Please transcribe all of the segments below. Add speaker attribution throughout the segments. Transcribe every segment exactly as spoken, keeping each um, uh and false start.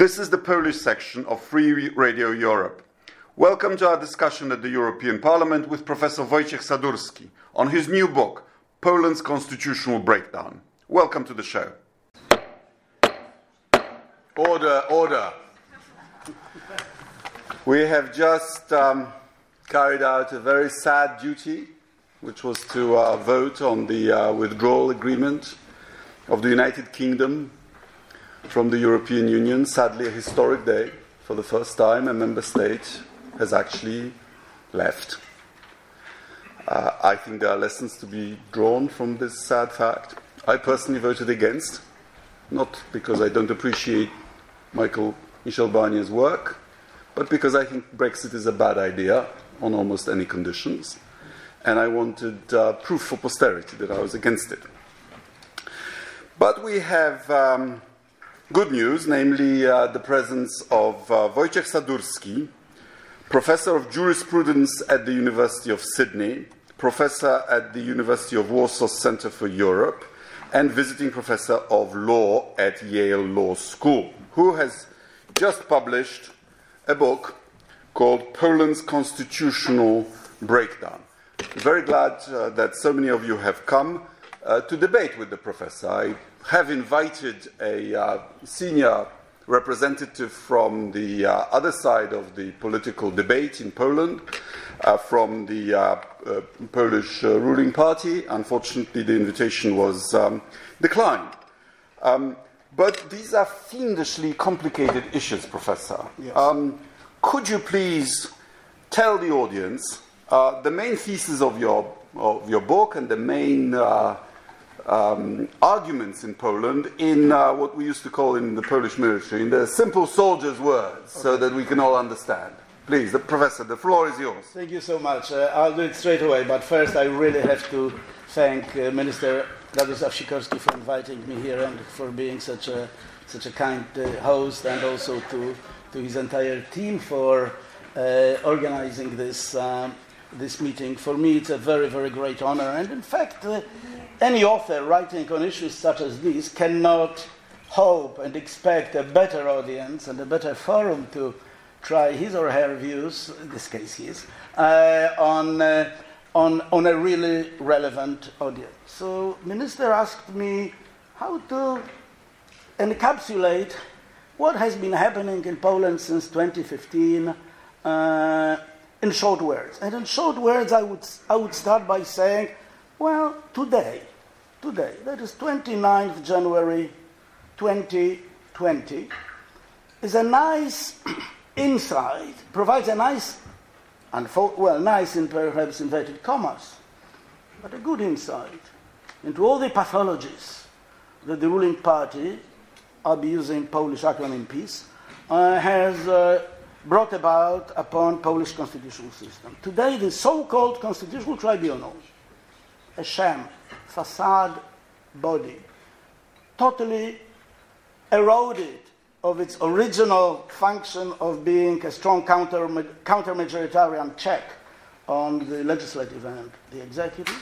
Speaker 1: This is the Polish section of Free Radio Europe. Welcome to our discussion at the European Parliament with Professor Wojciech Sadurski on his new book, Poland's Constitutional Breakdown. Welcome to the show. Order, order. We have just um, carried out a very sad duty, which was to uh, vote on the uh, withdrawal agreement of the United Kingdom from the European Union. Sadly, a historic day. For the first time, a member state has actually left. Uh, I think there are lessons to be drawn from this sad fact. I personally voted against, not because I don't appreciate Michael Michel Barnier's work, but because I think Brexit is a bad idea on almost any conditions, and I wanted uh, proof for posterity that I was against it. But we have um, good news, namely uh, the presence of uh, Wojciech Sadurski, Professor of Jurisprudence at the University of Sydney, Professor at the University of Warsaw Center for Europe, and Visiting Professor of Law at Yale Law School, who has just published a book called Poland's Constitutional Breakdown. I'm very glad uh, that so many of you have come uh, to debate with the professor. I have invited a uh, senior representative from the uh, other side of the political debate in Poland, uh, from the uh, uh, Polish uh, ruling party. Unfortunately, the invitation was um, declined. Um, but these are fiendishly complicated issues, Professor.
Speaker 2: Yes.
Speaker 1: Um, could you please tell the audience uh, the main thesis of your of your book and the main uh, Um, arguments in Poland in uh, what we used to call in the Polish military, in the simple soldier's words, okay, so that we can all understand. Please, the professor, the floor is yours.
Speaker 2: Thank you so much. Uh, I'll do it straight away, but first I really have to thank uh, Minister Radosław Sikorski for inviting me here and for being such a such a kind uh, host, and also to, to his entire team for uh, organizing this um, this meeting. For me, it's a very, very great honor, and in fact, uh, any author writing on issues such as these cannot hope and expect a better audience and a better forum to try his or her views, in this case his, uh, on, uh, on, on a really relevant audience. So, Minister asked me how to encapsulate what has been happening in Poland since twenty fifteen uh, in short words. And in short words, I would, I would start by saying, well, today, Today, that is twenty-ninth January twenty twenty, is a nice insight, provides a nice, unfo- well, nice in perhaps inverted commas, but a good insight into all the pathologies that the ruling party, I'll be using Polish acronym PiS, uh, has uh, brought about upon Polish constitutional system. Today, the so-called Constitutional Tribunal, a sham, facade body, totally eroded of its original function of being a strong counter, counter-majoritarian check on the legislative and the executive,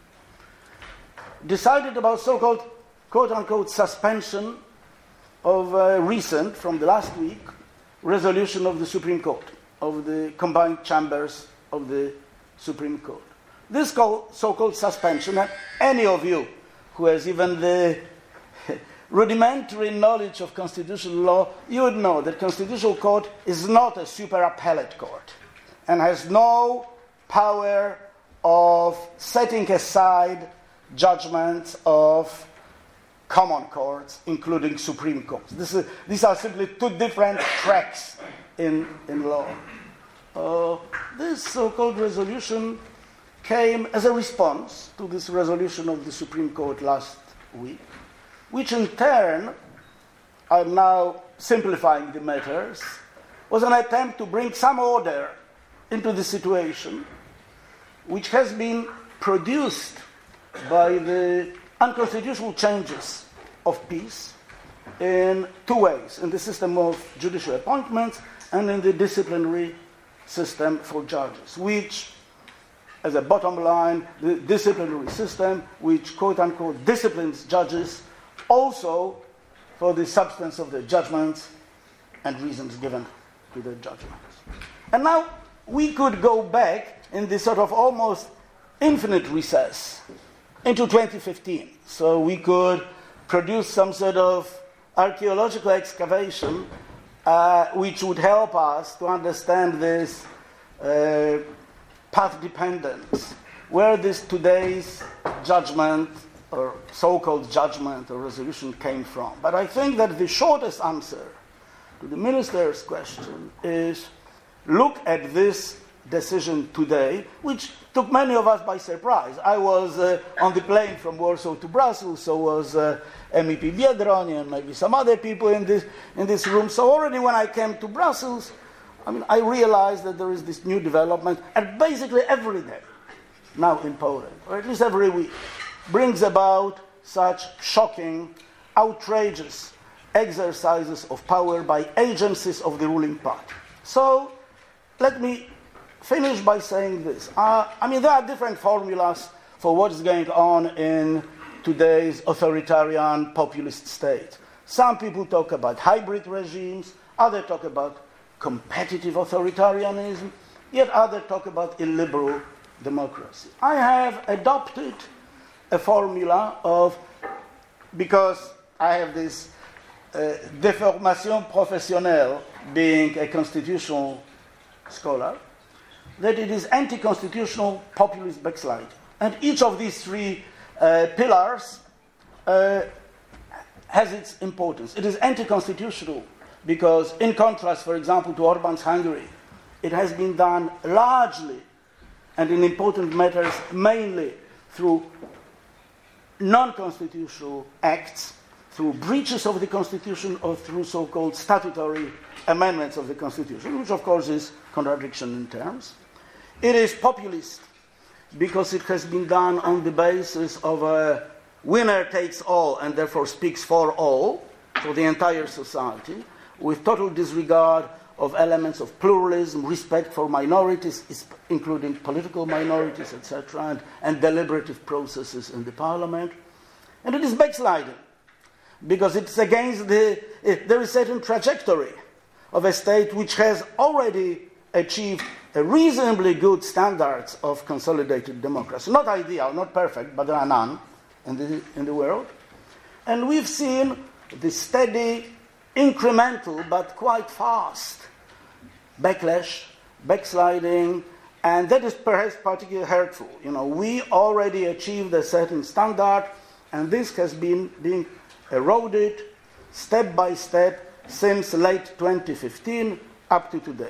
Speaker 2: decided about so-called quote-unquote suspension of a recent, from the last week, resolution of the Supreme Court, of the combined chambers of the Supreme Court. This so-called suspension, and any of you who has even the rudimentary knowledge of constitutional law, you would know that Constitutional Court is not a super appellate court and has no power of setting aside judgments of common courts, including Supreme Courts. This is, these are simply two different tracks in, in law. Uh, this so-called resolution came as a response to this resolution of the Supreme Court last week, which in turn, I'm now simplifying the matters, was an attempt to bring some order into the situation, which has been produced by the unconstitutional changes of PiS in two ways, in the system of judicial appointments and in the disciplinary system for judges, which, as a bottom line, the disciplinary system, which quote-unquote disciplines judges also for the substance of their judgments and reasons given to the judgments. And now we could go back in this sort of almost infinite recess into twenty fifteen. So we could produce some sort of archaeological excavation uh, which would help us to understand this uh, path dependence, where this today's judgment or so-called judgment or resolution came from. But I think that the shortest answer to the minister's question is look at this decision today, which took many of us by surprise. I was uh, on the plane from Warsaw to Brussels, so was uh, M E P Biedroń and maybe some other people in this, in this room. So already when I came to Brussels, I mean, I realized that there is this new development, and basically every day now in Poland, or at least every week, brings about such shocking, outrageous exercises of power by agencies of the ruling party. So let me finish by saying this. Uh, I mean, there are different formulas for what is going on in today's authoritarian populist state. Some people talk about hybrid regimes, others talk about competitive authoritarianism, yet others talk about illiberal democracy. I have adopted a formula of, because I have this uh, deformation professionnelle, being a constitutional scholar, that it is anti-constitutional populist backsliding. And each of these three uh, pillars uh, has its importance. It is anti-constitutional because, in contrast, for example, to Orban's Hungary, it has been done largely and in important matters mainly through non-constitutional acts, through breaches of the Constitution or through so-called statutory amendments of the Constitution, which of course is contradiction in terms. It is populist because it has been done on the basis of a winner takes all and therefore speaks for all, for the entire society, with total disregard of elements of pluralism, respect for minorities, including political minorities, et cetera, and, and deliberative processes in the parliament. And it is backsliding because it's against the, it, there is a certain trajectory of a state which has already achieved a reasonably good standards of consolidated democracy. Not ideal, not perfect, but there are none in the, in the world. And we've seen the steady, incremental, but quite fast backlash, backsliding, and that is perhaps particularly hurtful. You know, we already achieved a certain standard, and this has been being eroded step by step since late twenty fifteen up to today.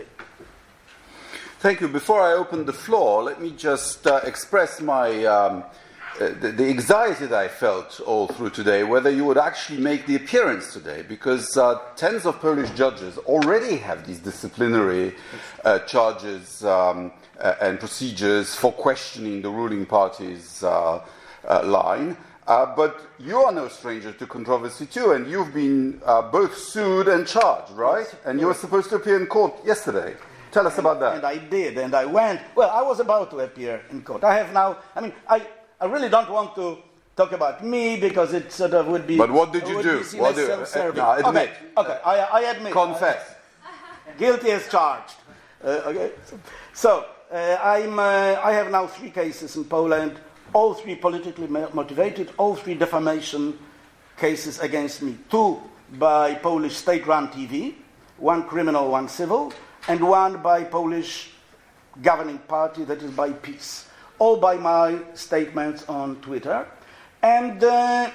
Speaker 1: Thank you. Before I open the floor, let me just uh, express my um, uh, the, the anxiety that I felt all through today, whether you would actually make the appearance today, because uh, tens of Polish judges already have these disciplinary uh, charges um, uh, and procedures for questioning the ruling party's uh, uh, line. Uh, but you are no stranger to controversy too, and you've been uh, both sued and charged, right? And you were supposed to appear in court yesterday. Tell us about that.
Speaker 2: And I did, and I went. Well, I was about to appear in court. I have now, I mean, I, I really don't want to talk about me because it sort of would be...
Speaker 1: But what did you do?
Speaker 2: What
Speaker 1: do
Speaker 2: uh,
Speaker 1: no, admit.
Speaker 2: Okay, okay. I, I admit.
Speaker 1: Confess.
Speaker 2: Guilty as charged. Uh, okay. So, uh, I'm, uh, I have now three cases in Poland, all three politically motivated, all three defamation cases against me. Two by Polish state-run T V, one criminal, one civil, and one by Polish governing party, that is by PiS. All by my statements on Twitter. And uh,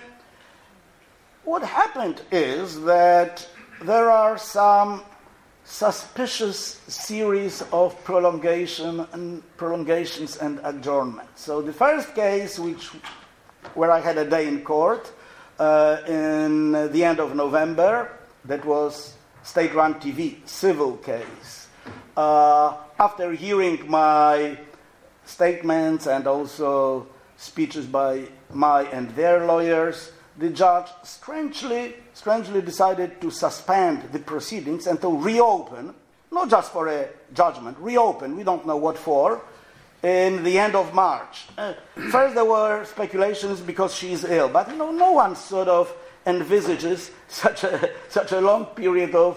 Speaker 2: what happened is that there are some suspicious series of prolongation and prolongations and adjournments. So the first case, which where I had a day in court uh, in the end of November, that was state-run T V, civil case. Uh, after hearing my statements and also speeches by my and their lawyers, the judge strangely, strangely decided to suspend the proceedings and to reopen, not just for a judgment, reopen, we don't know what for, in the end of March. Uh, first there were speculations because she is ill, but you know, no one sort of envisages such a, such a long period of,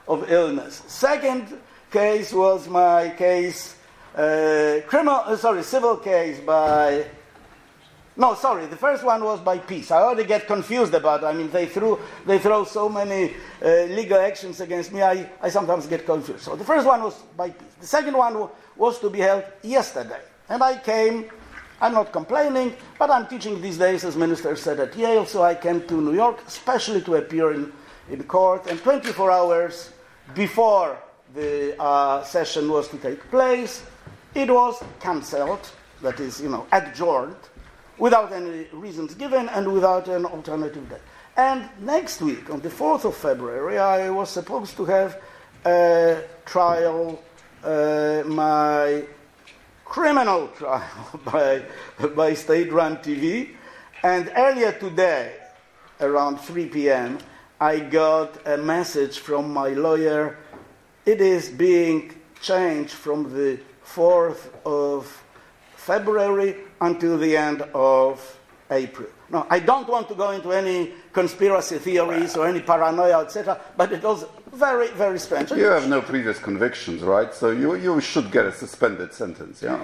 Speaker 2: of illness. Second case was my case, uh, criminal, uh, sorry, civil case by, no, sorry, the first one was by peace. I already get confused about it. I mean, they threw, they throw so many uh, legal actions against me, I, I sometimes get confused. So the first one was by peace. The second one w- was to be held yesterday. And I came, I'm not complaining, but I'm teaching these days, as Minister said, at Yale, so I came to New York, especially to appear in, in court. And twenty-four hours before the uh, session was to take place, it was cancelled, that is, you know, adjourned, without any reasons given and without an alternative date. And next week, on the fourth of February, I was supposed to have a trial, uh, my criminal trial by, by state-run T V. And earlier today, around three p.m., I got a message from my lawyer. It is being changed from the fourth of February until the end of April. Now, I don't want to go into any conspiracy theories or any paranoia, et cetera, but it was very, very strange.
Speaker 1: You have no previous convictions, right? So you, you should get a suspended sentence, yeah?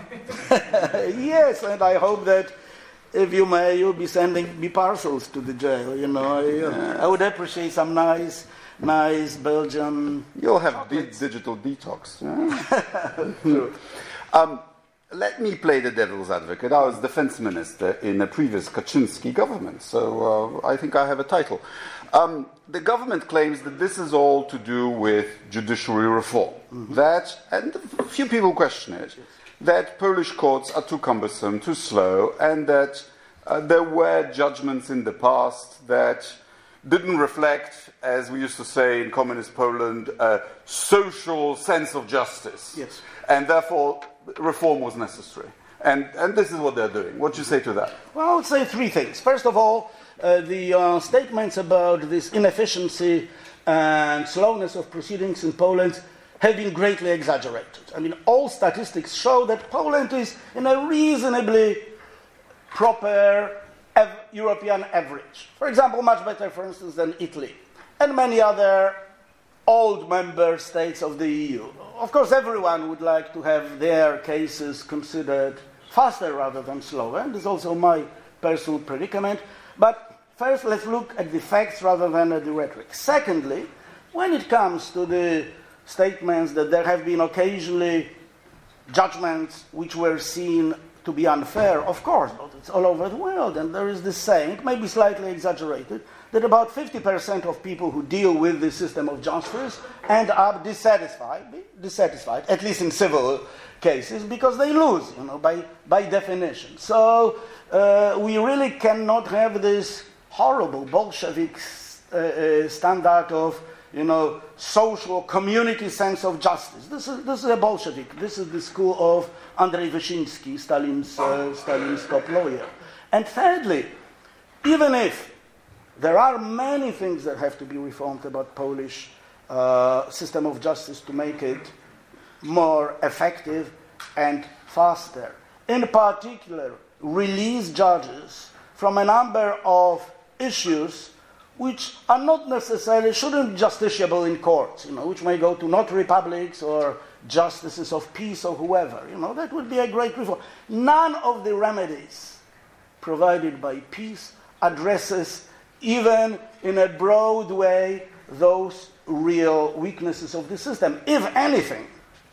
Speaker 2: Yes, and I hope that if you may, you'll be sending me parcels to the jail, you know. I, yes. I would appreciate some nice, nice Belgian...
Speaker 1: You'll have di- digital detox, yeah? True. um, Let me play the devil's advocate. I was defense minister in a previous Kaczynski government, so uh, I think I have a title. Um, the government claims that this is all to do with judiciary reform. Mm-hmm. That, and a few people question it, yes. that Polish courts are too cumbersome, too slow, and that uh, there were judgments in the past that didn't reflect, as we used to say in communist Poland, a social sense of justice.
Speaker 2: Yes.
Speaker 1: And therefore, reform was necessary. And, and this is what they're doing. What do you say to that?
Speaker 2: Well, I would say three things. First of all, uh, the uh, statements about this inefficiency and slowness of proceedings in Poland have been greatly exaggerated. I mean, all statistics show that Poland is in a reasonably proper av- European average. For example, much better, for instance, than Italy and many other old member states of the E U. Of course, everyone would like to have their cases considered faster rather than slower, and this is also my personal predicament. But first, let's look at the facts rather than at the rhetoric. Secondly, when it comes to the statements that there have been occasionally judgments which were seen to be unfair, of course, but it's all over the world, and there is this saying, maybe slightly exaggerated, that about fifty percent of people who deal with the system of justice end up dissatisfied, dissatisfied, at least in civil cases, because they lose, you know, by, by definition. So uh, we really cannot have this horrible Bolshevik uh, uh, standard of, you know, social community sense of justice. This is this is a Bolshevik. This is the school of Andrei Wyszynski, Stalin's uh, Stalin's top lawyer. And thirdly, even if there are many things that have to be reformed about Polish uh, system of justice to make it more effective and faster. In particular, release judges from a number of issues which are not necessarily, shouldn't be justiciable in courts, you know, which may go to notary publics or justices of peace or whoever. You know, that would be a great reform. None of the remedies provided by peace addresses, even in a broad way, those real weaknesses of the system. If anything,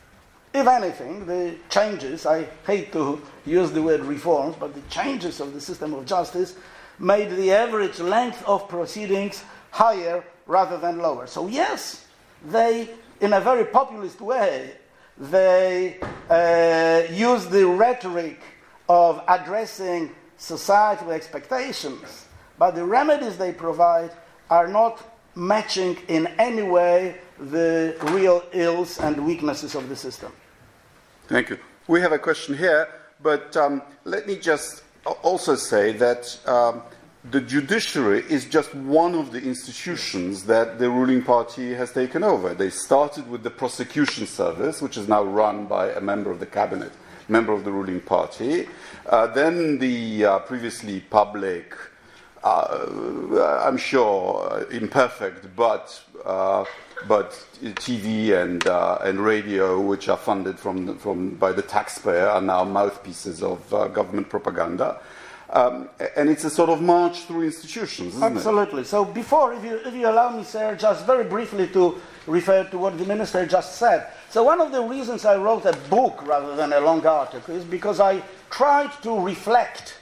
Speaker 2: if anything, the changes, I hate to use the word reforms, but the changes of the system of justice made the average length of proceedings higher rather than lower. So yes, they, in a very populist way, they uh, use the rhetoric of addressing societal expectations, but the remedies they provide are not matching in any way the real ills and weaknesses of the system.
Speaker 1: Thank you. We have a question here, but um, let me just also say that um, the judiciary is just one of the institutions that the ruling party has taken over. They started with the prosecution service, which is now run by a member of the cabinet, member of the ruling party. Uh, then the uh, previously public uh, I'm sure, imperfect, but uh, but T V and uh, and radio, which are funded from from by the taxpayer, are now mouthpieces of uh, government propaganda. Um, and it's a sort of march through institutions, isn't
Speaker 2: Absolutely. it? Absolutely. So before, if you, if you allow me, sir, just very briefly to refer to what the minister just said. So one of the reasons I wrote a book rather than a long article is because I tried to reflect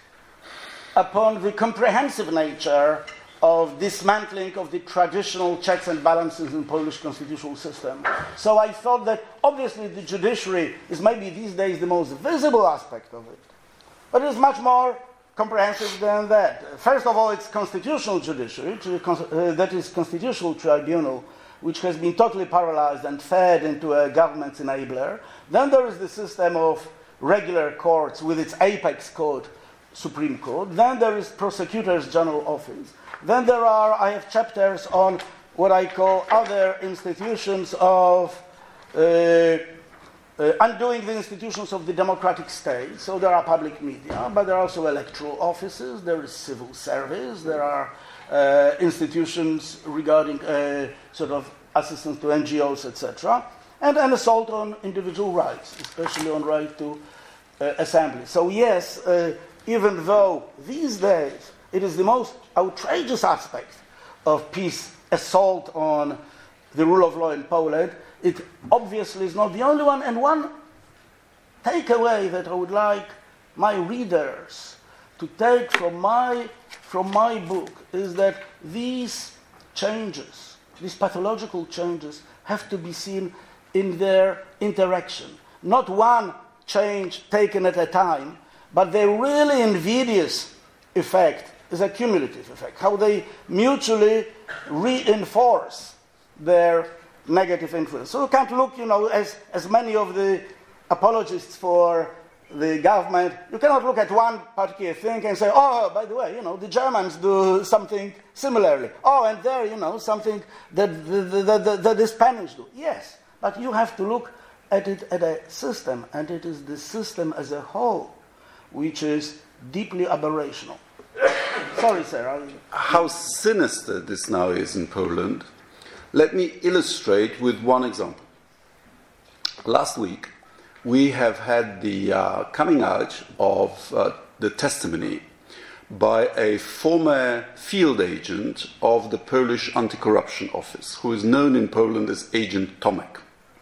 Speaker 2: upon the comprehensive nature of dismantling of the traditional checks and balances in the Polish constitutional system. So I thought that obviously the judiciary is maybe these days the most visible aspect of it, but it is much more comprehensive than that. First of all, it's constitutional judiciary, uh, that is constitutional tribunal, which has been totally paralyzed and fed into a government enabler. Then there is the system of regular courts with its apex court, Supreme Court. Then there is Prosecutor's General Office. Then there are, I have chapters on what I call other institutions of uh, Uh, undoing the institutions of the democratic state. So there are public media, but there are also electoral offices, there is civil service, there are uh, institutions regarding uh, sort of assistance to N G Os, et cetera, and an assault on individual rights, especially on right to uh, assembly. So yes, uh, even though these days it is the most outrageous aspect of peace, assault on the rule of law in Poland, it obviously is not the only one. And one takeaway that I would like my readers to take from my, from my book is that these changes, these pathological changes, have to be seen in their interaction. Not one change taken at a time, but the really invidious effect is a cumulative effect, how they mutually reinforce their negative influence. So you can't look, you know, as, as many of the apologists for the government, you cannot look at one particular thing and say, oh, by the way, you know, the Germans do something similarly. Oh, and there, you know, something that the, the, the, the, the Spanish do. Yes, but you have to look at it at a system, and it is the system as a whole which is deeply aberrational. Sorry, sir. I'll...
Speaker 1: How sinister this now is in Poland. Let me illustrate with one example. Last week, we have had the uh, coming out of uh, the testimony by a former field agent of the Polish Anti-Corruption Office, who is known in Poland as Agent Tomek,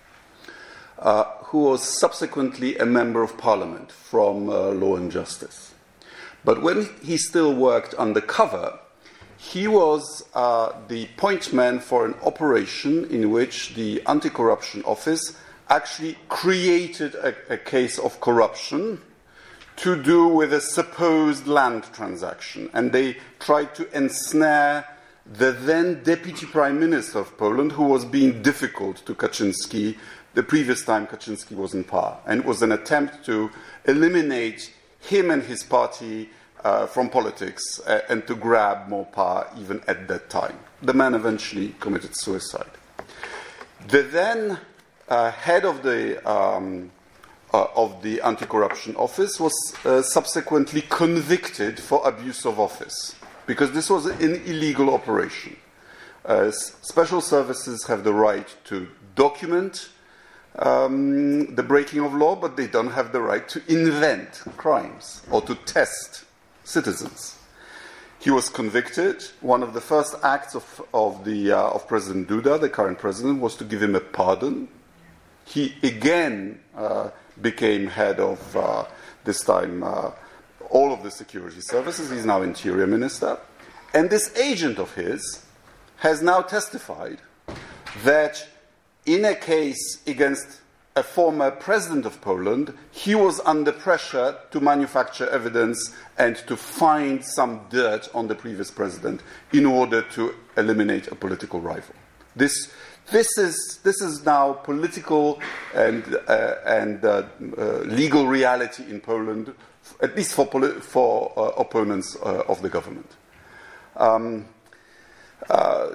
Speaker 1: uh, who was subsequently a member of parliament from uh, Law and Justice. But when he still worked undercover, he was uh, the point man for an operation in which the Anti-Corruption Office actually created a, a case of corruption to do with a supposed land transaction. And they tried to ensnare the then Deputy Prime Minister of Poland, who was being difficult to Kaczynski the previous time Kaczynski was in power. And it was an attempt to eliminate him and his party Uh, from politics uh, and to grab more power even at that time. The man eventually committed suicide. The then uh, head of the um, uh, of the Anti-Corruption Office was uh, subsequently convicted for abuse of office because this was an illegal operation. Uh, special services have the right to document um, the breaking of law, but they don't have the right to invent crimes or to test citizens. He was convicted. One of the first acts of, of, the, uh, of President Duda, the current president, was to give him a pardon. He again uh, became head of, uh, this time, uh, all of the security services. He's now interior minister. And this agent of his has now testified that in a case against a former president of Poland, he was under pressure to manufacture evidence and to find some dirt on the previous president in order to eliminate a political rival. This, this, is, this is now political and, uh, and uh, uh, legal reality in Poland, at least for, poli- for uh, opponents uh, of the government. Um, uh,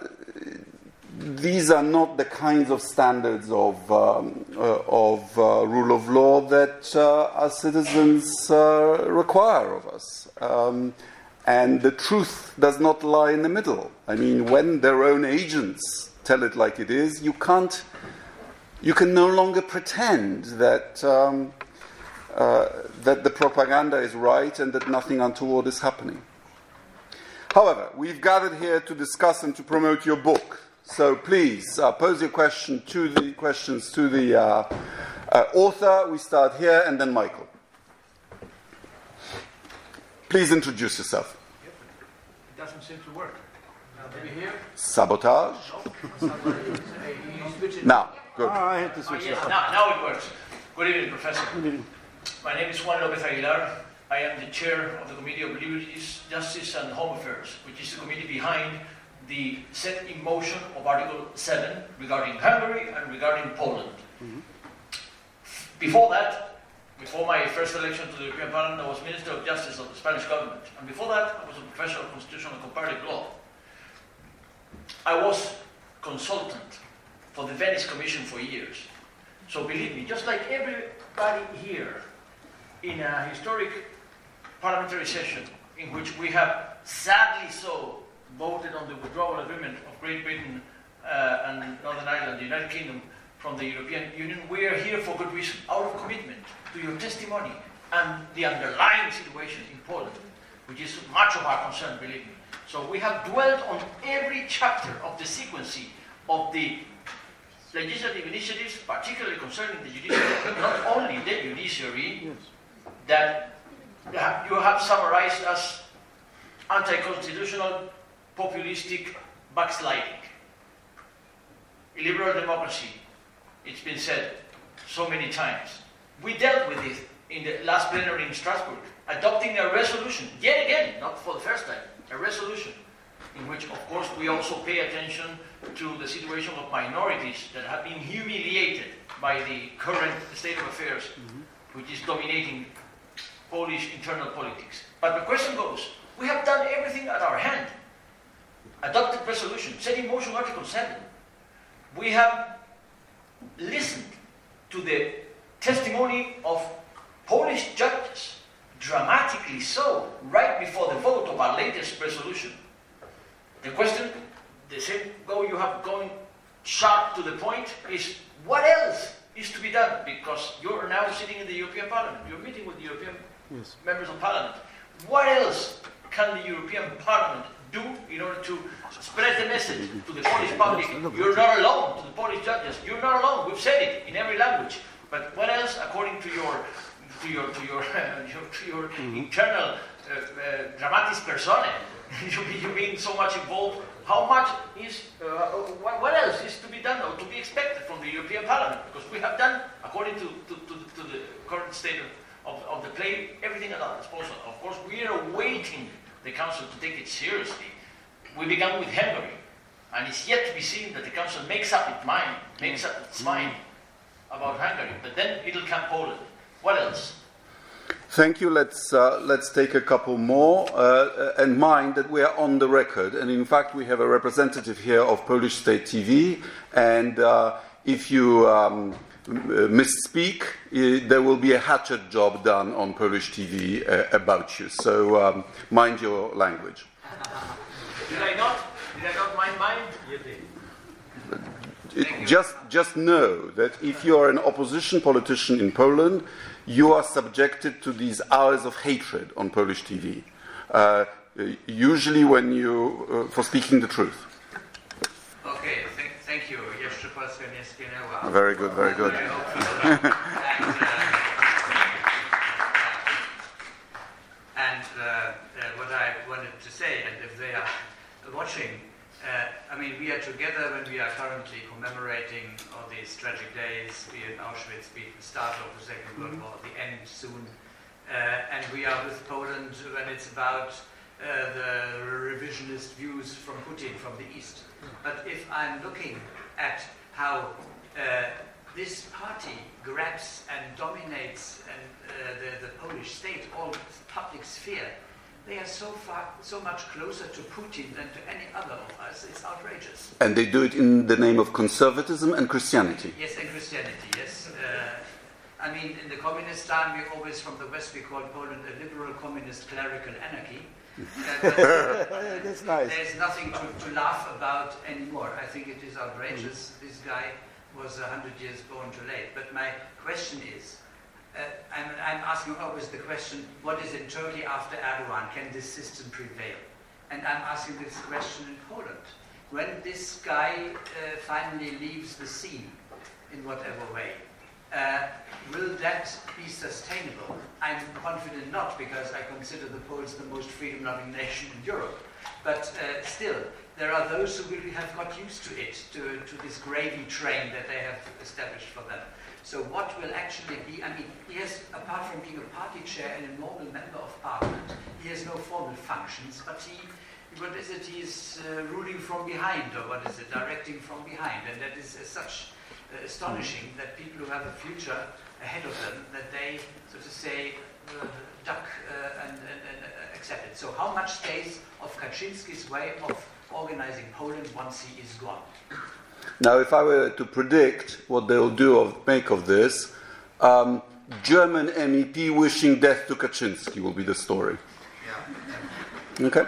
Speaker 1: These are not the kinds of standards of, um, uh, of uh, rule of law that uh, our citizens uh, require of us. Um, And the truth does not lie in the middle. I mean, when their own agents tell it like it is, you can't, you can no longer pretend that um, uh, that the propaganda is right and that nothing untoward is happening. However, we've gathered here to discuss and to promote your book. So please uh, pose your question to the questions to the uh, uh, author. We start here, and then Michael. Please introduce yourself.
Speaker 3: It doesn't seem to work. Now, do we hear?
Speaker 1: Sabotage.
Speaker 3: No.
Speaker 1: Now, good.
Speaker 2: Ah, I had to
Speaker 3: Oh,
Speaker 2: switch
Speaker 3: yes,
Speaker 2: it.
Speaker 3: now, now it works. Good evening, Professor.
Speaker 2: Good evening.
Speaker 3: My name is Juan López Aguilar. I am the chair of the Committee of Liberties, Justice and Home Affairs, which is the committee behind the set in motion of Article seven regarding Hungary and regarding Poland.
Speaker 2: Mm-hmm.
Speaker 3: Before that, before my first election to the European Parliament, I was Minister of Justice of the Spanish government. And before that, I was a professor of constitutional and comparative law. I was consultant for the Venice Commission for years. So believe me, just like everybody here in a historic parliamentary session in which we have, sadly so, voted on the withdrawal agreement of Great Britain uh, and Northern Ireland, the United Kingdom, from the European Union, we are here for good reason, out of commitment to your testimony and the underlying situation in Poland, which is much of our concern, believe me. So we have dwelt on every chapter of the sequence of the legislative initiatives, particularly concerning the judiciary, but not only the judiciary,
Speaker 2: Yes.
Speaker 3: that you have summarized as anti-constitutional, populistic backsliding. Illiberal democracy, it's been said so many times. We dealt with it in the last plenary in Strasbourg, adopting a resolution, yet again, not for the first time, a resolution in which, of course, we also pay attention to the situation of minorities that have been humiliated by the current state of affairs, mm-hmm. which is dominating Polish internal politics. But the question goes, we have done everything at our hand. Adopted resolution, set in motion Article seven. We have listened to the testimony of Polish judges, dramatically so, right before the vote of our latest resolution. The question, the same go you have going sharp to the point, is what else is to be done? Because you're now sitting in the European Parliament, you're meeting with the European yes. members of Parliament. What else can the European Parliament do in order to spread the message to the Polish public? You're not alone, to the Polish judges. You're not alone. We've said it in every language. But what else, according to your to your to your uh, your, to your mm-hmm. internal uh, uh, dramatis personae, you you being so much involved? How much is uh, what, what else is to be done or to be expected from the European Parliament? Because we have done, according to to, to, to the current state of, of, of the play, everything at our disposal. Of course, we are awaiting the Council to take it seriously. We began with Hungary, and it's yet to be seen that the Council makes up its mind, makes up its mind about Hungary. But then it'll come Poland. What else?
Speaker 1: Thank you. Let's uh, let's take a couple more, uh, and mind that we are on the record, and in fact we have a representative here of Polish State T V, and uh, if you um, misspeak, uh, there will be a hatchet job done on Polish T V uh, about you. So um, mind your language.
Speaker 3: Did I not? Did I not mind mine? You did.
Speaker 1: It, just, just know that if you are an opposition politician in Poland, you are subjected to these hours of hatred on Polish T V. Uh, usually, when you uh, for speaking the truth.
Speaker 4: Okay, th- thank you. Jeszcze Polska nie zginęła.
Speaker 1: Very good, very good.
Speaker 4: I hope so. and uh, and uh, uh, what I wanted to say, and if they are watching, uh, I mean, we are together when we are currently commemorating all these tragic days, be it Auschwitz, be it the start of the Second World War, the end soon, uh, and we are with Poland when it's about uh, the revisionist views from Putin from the East. But if I'm looking at how uh, this party grabs and dominates and, uh, the, the Polish state, all public sphere, they are so far, so much closer to Putin than to any other of us. It's outrageous.
Speaker 1: And they do it in the name of conservatism and Christianity.
Speaker 4: Yes, and Christianity, yes. Uh, I mean, in the communist time, we always, from the West, we called Poland a liberal, communist, clerical anarchy. Uh,
Speaker 2: That's nice.
Speaker 4: There's nothing to, to laugh about anymore. I think it is outrageous. Mm. This guy was a hundred years born too late. But my question is, uh, I'm, I'm asking always the question, what is in Turkey after Erdogan? Can this system prevail? And I'm asking this question in Poland. When this guy uh, finally leaves the scene, in whatever way, uh, will that be sustainable? I'm confident not, because I consider the Poles the most freedom-loving nation in Europe. But uh, still, there are those who really have got used to it, to, to this gravy train that they have established for them. So what will actually be, I mean, he has, apart from being a party chair and a normal member of parliament, he has no formal functions, but he, what is it, he is uh, ruling from behind, or what is it, directing from behind, and that is uh, such uh, astonishing that people who have a future ahead of them, that they, so to say, uh, duck uh, and, and, and uh, accept it. So how much stays of Kaczynski's way of organizing Poland once he is gone?
Speaker 1: Now, if I were to predict what they'll do of make of this, um, German M E P wishing death to Kaczynski will be the story.
Speaker 4: Yeah.
Speaker 1: Okay.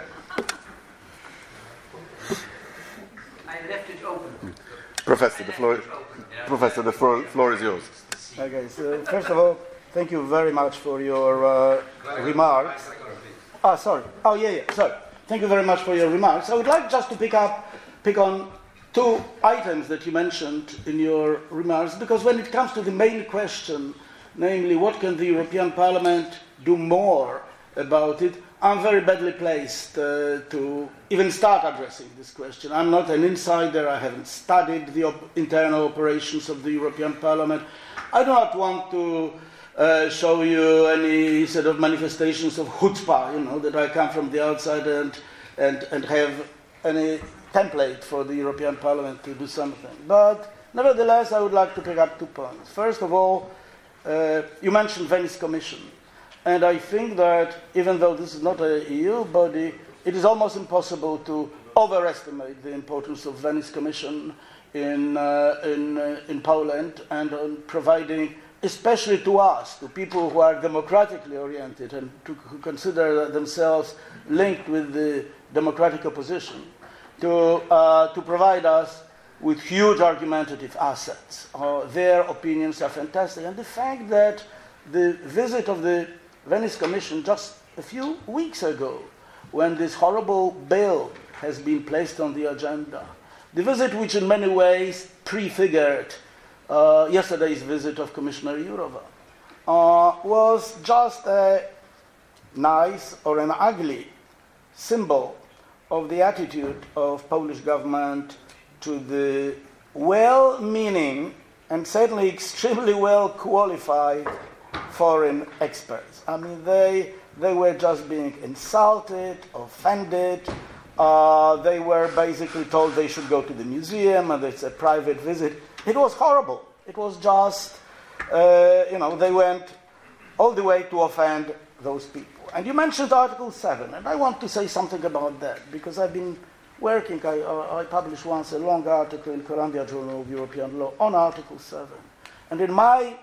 Speaker 4: I left it open.
Speaker 1: Professor, the floor,
Speaker 4: Yeah.
Speaker 1: Professor, the floor, floor is yours.
Speaker 2: Okay, so first of all, thank you very much for your uh, remarks. Ah, sorry. Oh, yeah, yeah, sorry. Thank you very much for your remarks. I would like just to pick up, pick on two items that you mentioned in your remarks, because when it comes to the main question, namely what can the European Parliament do more about it, I'm very badly placed uh, to even start addressing this question. I'm not an insider. I haven't studied the op- internal operations of the European Parliament. I do not want to uh, show you any sort of manifestations of chutzpah, you know, that I come from the outside and, and, and have any template for the European Parliament to do something. But nevertheless, I would like to pick up two points. First of all, uh, you mentioned Venice Commission. And I think that even though this is not an E U body, it is almost impossible to overestimate the importance of Venice Commission in, uh, in, uh, in Poland, and on providing, especially to us, to people who are democratically oriented and to, who consider themselves linked with the democratic opposition, to, uh, to provide us with huge argumentative assets. Uh, their opinions are fantastic. And the fact that the visit of the Venice Commission just a few weeks ago, when this horrible bill has been placed on the agenda, the visit which in many ways prefigured uh, yesterday's visit of Commissioner Jourova, uh, was just a nice or an ugly symbol of the attitude of Polish government to the well-meaning and certainly extremely well-qualified foreign experts. I mean, they they were just being insulted, offended. Uh, they were basically told they should go to the museum and it's a private visit. It was horrible. It was just, uh, you know, they went all the way to offend those people. And you mentioned Article seven, and I want to say something about that, because I've been working, I, uh, I published once a long article in Columbia Journal of European Law on Article seven. And in my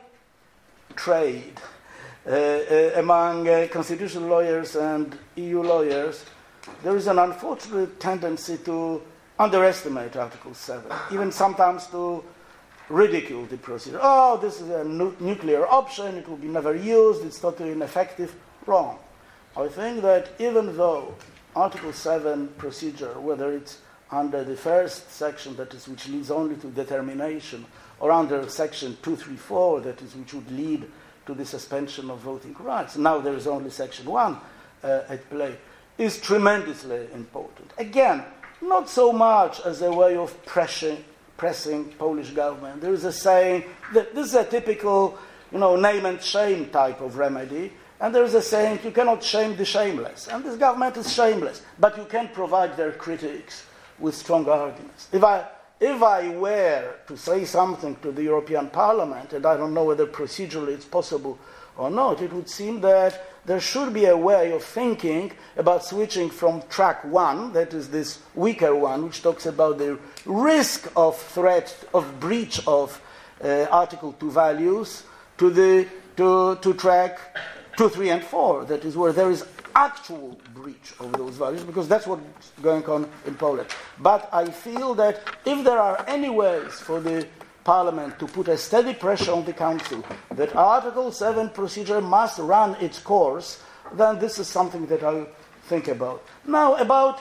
Speaker 2: trade uh, uh, among uh, constitutional lawyers and E U lawyers, there is an unfortunate tendency to underestimate Article seven, even sometimes to ridicule the procedure. Oh, this is a nu- nuclear option, it will be never used, it's totally ineffective. Wrong. I think that even though Article seven procedure, whether it's under the first section, that is, which leads only to determination, or under section two thirty-four, that is, which would lead to the suspension of voting rights, now there is only section one uh, at play, is tremendously important. Again, not so much as a way of pressing, pressing Polish government. There is a saying that this is a typical, you know, name and shame type of remedy, and there is a saying, you cannot shame the shameless. And this government is shameless, but you can provide their critics with strong arguments. If I If I were to say something to the European Parliament, and I don't know whether procedurally it's possible or not, it would seem that there should be a way of thinking about switching from track one, that is this weaker one, which talks about the risk of threat, of breach of uh, Article two values, to the to, to track two, three, and four, that is where there is actual breach of those values, because that's what's going on in Poland. But I feel that if there are any ways for the Parliament to put a steady pressure on the Council that Article seven procedure must run its course, then this is something that I'll think about. Now, about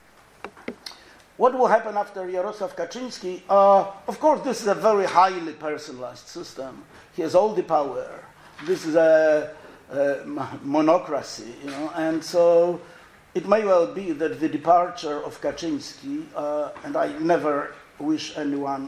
Speaker 2: what will happen after Jarosław Kaczyński, uh, of course, this is a very highly personalized system. He has all the power. This is a, a monocracy, you know, and so it may well be that the departure of Kaczyński, uh, and I never wish anyone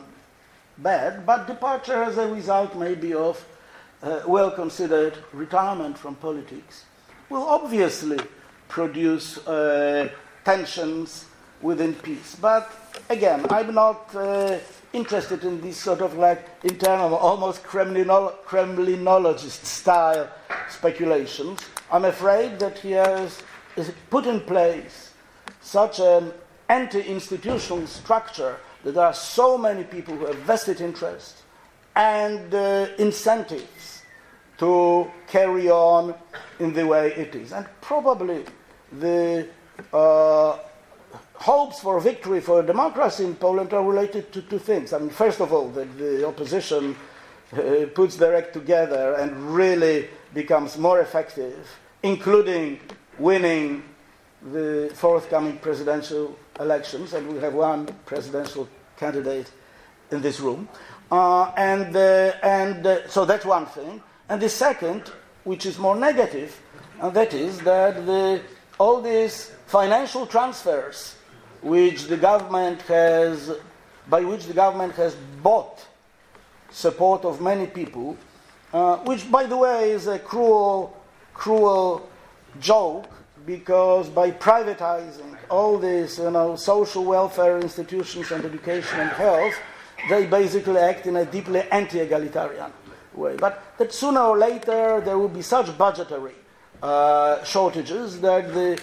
Speaker 2: bad, but departure as a result maybe of uh, well-considered retirement from politics, will obviously produce uh, tensions within peace. But again, I'm not uh, interested in these sort of like internal, almost Kremlinolo- Kremlinologist style speculations. I'm afraid that he has put in place such an anti-institutional structure that there are so many people who have vested interest and uh, incentives to carry on in the way it is. And probably the uh, hopes for victory for democracy in Poland are related to two things. I mean, first of all, that the opposition uh, puts their act together and really becomes more effective, including winning the forthcoming presidential elections, and we have one presidential candidate in this room. Uh, and uh, and uh, so that's one thing. And the second, which is more negative, and that is that the, all these financial transfers which the government has, by which the government has bought support of many people, uh, which, by the way, is a cruel, cruel joke, because by privatizing all these, you know, social welfare institutions and education and health, they basically act in a deeply anti-egalitarian way. But that sooner or later there will be such budgetary uh, shortages that the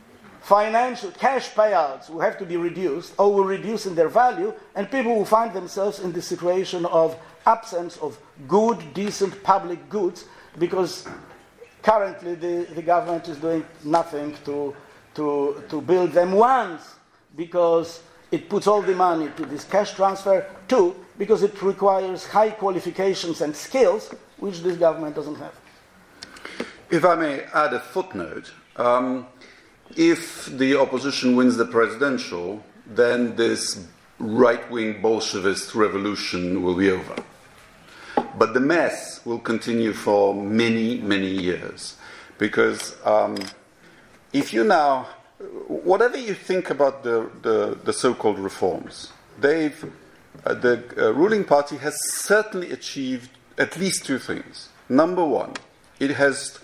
Speaker 2: financial cash payouts will have to be reduced or will reduce in their value, and people will find themselves in the situation of absence of good, decent public goods, because currently the, the government is doing nothing to, to, to build them. Once, because it puts all the money to this cash transfer. Two, because it requires high qualifications and skills, which this government doesn't have.
Speaker 1: If I may add a footnote, um, if the opposition wins the presidential, then this right-wing Bolshevist revolution will be over. But the mess will continue for many, many years. Because um, if you now, whatever you think about the, the, the so-called reforms, they've, uh, the uh, ruling party has certainly achieved at least two things. Number one, it has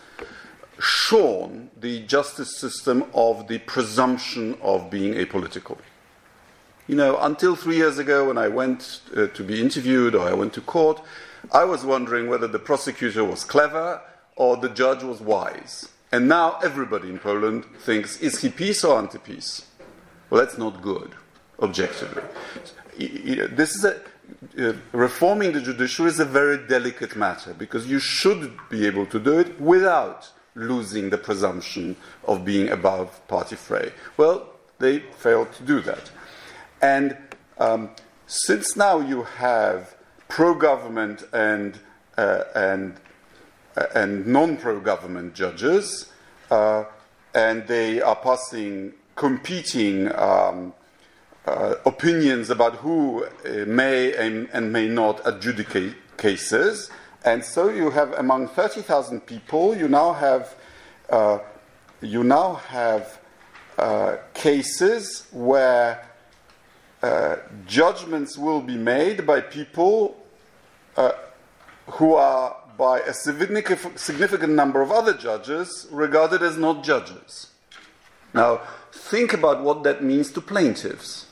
Speaker 1: shorn the justice system of the presumption of being apolitical. You know, until three years ago when I went uh, to be interviewed or I went to court, I was wondering whether the prosecutor was clever or the judge was wise. And now everybody in Poland thinks, is he peace or anti-peace? Well, that's not good, objectively. This is a, uh, reforming the judiciary is a very delicate matter, because you should be able to do it without losing the presumption of being above party fray. Well, they failed to do that. And um, since now you have pro-government and uh, and uh, and non-pro-government judges, uh, and they are passing competing um, uh, opinions about who uh, may and, and may not adjudicate cases. And so you have, among thirty thousand people, you now have uh, you now have uh, cases where uh, judgments will be made by people uh, who are, by a significant, significant number of other judges, regarded as not judges. Now, think about what that means to plaintiffs.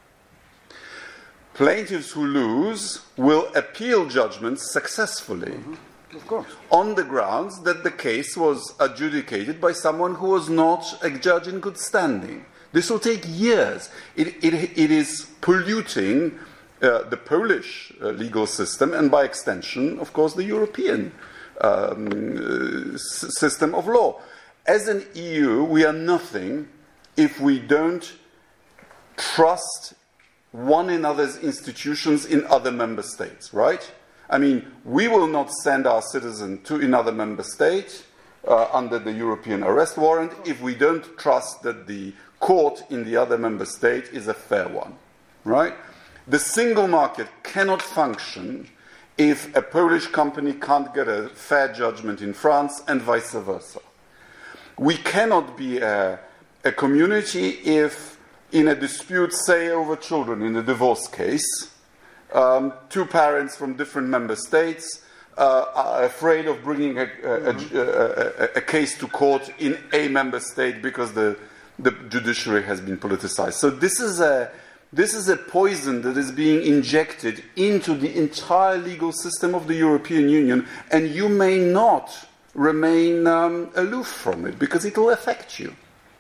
Speaker 1: Plaintiffs who lose will appeal judgments successfully,
Speaker 2: mm-hmm. Of course,
Speaker 1: on the grounds that the case was adjudicated by someone who was not a judge in good standing. This will take years. It, it, it is polluting uh, the Polish uh, legal system, and by extension, of course, the European um, uh, s- system of law. as an E U, we are nothing if we don't trust one another's institutions in other member states, right? I mean, we will not send our citizen to another member state uh, under the European arrest warrant if we don't trust that the court in the other member state is a fair one, right? The single market cannot function if a Polish company can't get a fair judgment in France and vice versa. We cannot be a, a community if, in a dispute, say, over children, in a divorce case, um, two parents from different member states uh, are afraid of bringing a, a, a, a, a case to court in a member state because the, the judiciary has been politicized. So this is a This is a poison that is being injected into the entire legal system of the European Union, and you may not remain um, aloof from it, because it will affect you.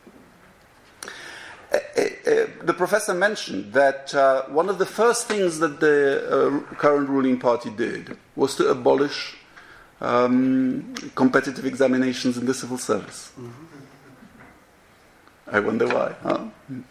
Speaker 1: Uh, uh, the professor mentioned that uh, one of the first things that the uh, current ruling party did was to abolish um, competitive examinations in the civil service. Mm-hmm. I wonder why, huh?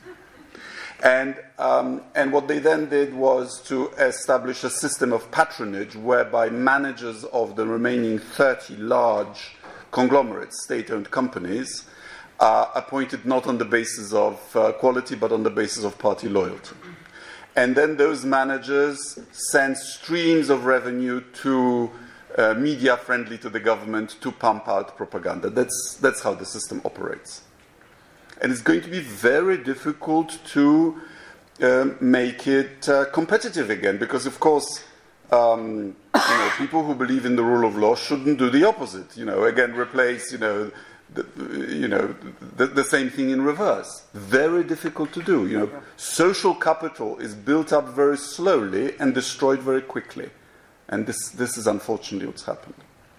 Speaker 1: And, um, and what they then did was to establish a system of patronage whereby managers of the remaining thirty large conglomerates, state-owned companies, are appointed not on the basis of uh, quality but on the basis of party loyalty. And then those managers send streams of revenue to uh, media friendly to the government to pump out propaganda. That's, that's how the system operates. And it's going to be very difficult to uh, make it uh, competitive again, because, of course, um, you know, people who believe in the rule of law shouldn't do the opposite. You know, again, replace, you know, the, you know, the, the same thing in reverse. Very difficult to do. You know, social capital is built up very slowly and destroyed very quickly, and this this is unfortunately what's happened.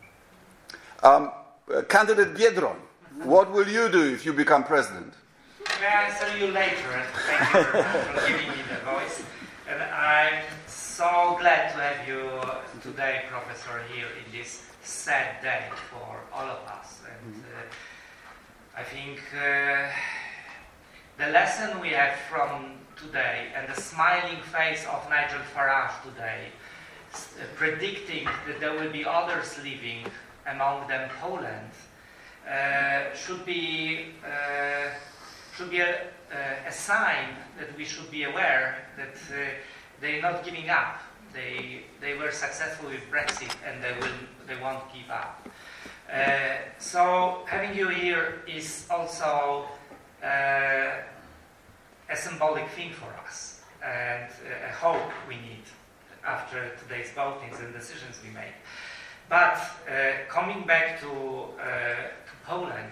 Speaker 1: Um, uh, candidate Biedroń. What will you do if you become president?
Speaker 5: May I answer you later? Thank you very much for giving me the voice. And I'm so glad to have you today, Professor, here in this sad day for all of us. And uh, I think uh, the lesson we have from today and the smiling face of Nigel Farage today, uh, predicting that there will be others leaving, among them Poland, Uh, should be uh, should be a, uh, a sign that we should be aware that uh, they're not giving up. They they were successful with Brexit and they will they won't give up. Uh, so having you here is also uh, a symbolic thing for us and a hope we need after today's votings and decisions we make. But uh, coming back to uh, Poland,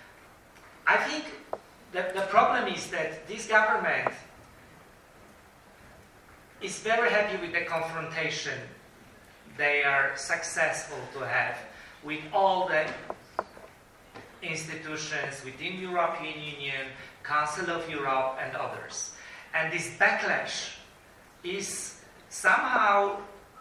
Speaker 5: I think the, the problem is that this government is very happy with the confrontation they are successful to have with all the institutions within European Union, Council of Europe and others. And this backlash is somehow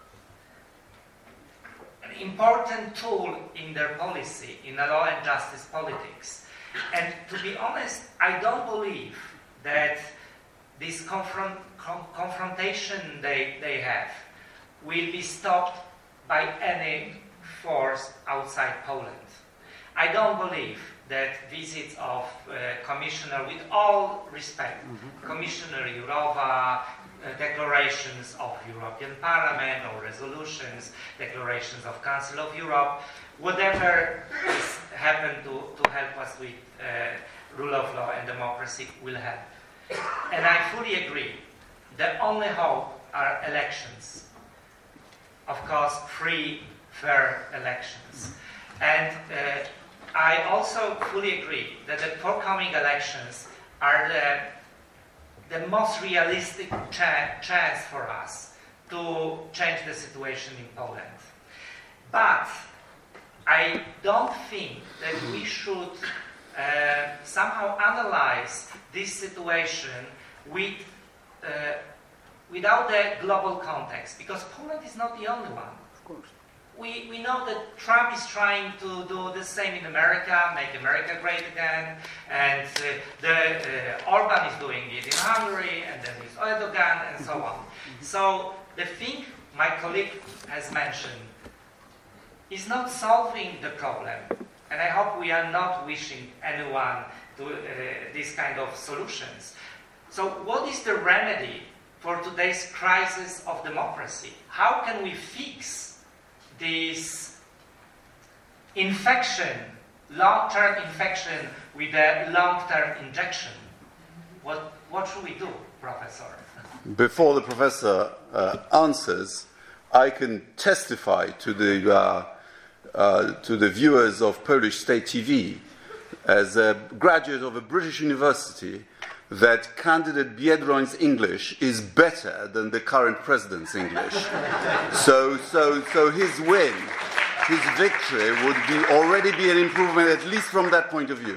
Speaker 5: important tool in their policy, in the law and justice politics. And to be honest, I don't believe that this confront, com- confrontation they, they have will be stopped by any force outside Poland. I don't believe that visits of uh, Commissioner, with all respect, mm-hmm. Commissioner Jourova, Uh, declarations of European Parliament or resolutions, declarations of Council of Europe, whatever is happen to, to help us with uh, rule of law and democracy will help. And I fully agree. The only hope are elections. Of course, free, fair elections. And uh, I also fully agree that the forthcoming elections are the the most realistic cha- chance for us to change the situation in Poland. But I don't think that we should uh, somehow analyze this situation with, uh, without the global context, because Poland is not the only one.
Speaker 2: Of course.
Speaker 5: we, we know that Trump is trying to do the same in America, make America great again, and uh, the, uh, Orban is doing it in Hungary, and then with Erdogan, and so on. So the thing my colleague has mentioned is not solving the problem, and I hope we are not wishing anyone to uh, these kind of solutions. So what is the remedy for today's crisis of democracy? How can we fix this infection, long-term infection with a long-term injection? What, what should we do, Professor?
Speaker 1: Before the professor uh, answers, I can testify to the, uh, uh, to the viewers of Polish State T V, as a graduate of a British university, that candidate Biedroń's English is better than the current president's English. so, so, so his win, his victory would be already be an improvement, at least from that point of view.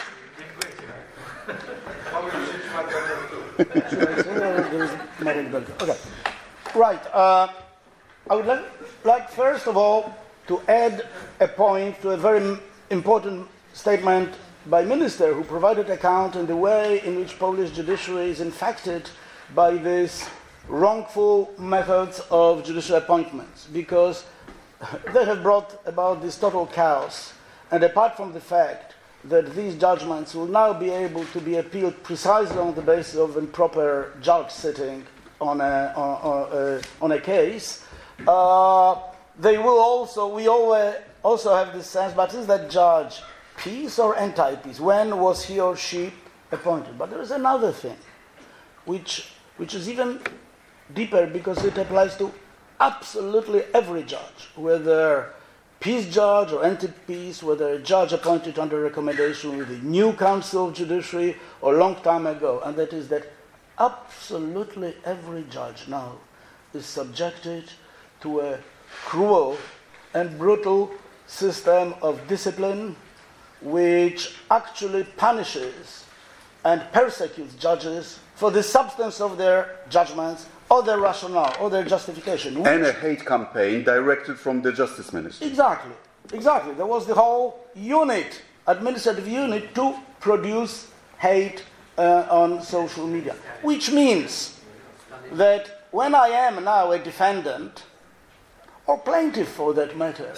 Speaker 2: Okay. Right. Uh, I would like, like, first of all, to add a point to a very important statement by Minister, who provided account in the way in which Polish judiciary is infected by these wrongful methods of judicial appointments, because they have brought about this total chaos. And apart from the fact that these judgments will now be able to be appealed precisely on the basis of improper judge sitting on a, on, on, uh, on a case, uh, they will also, we always also have this sense, but is that judge peace or anti-peace? When was he or she appointed? But there is another thing, which which is even deeper, because it applies to absolutely every judge, whether peace judge or anti-peace, whether a judge appointed under recommendation with the new Council of Judiciary or long time ago, and that is that absolutely every judge now is subjected to a cruel and brutal system of discipline, which actually punishes and persecutes judges for the substance of their judgments, or their rationale, or their justification.
Speaker 1: And a hate campaign directed from the Justice Ministry.
Speaker 2: Exactly, exactly. There was the whole unit, administrative unit, to produce hate uh, on social media. Which means that when I am now a defendant, or plaintiff for that matter,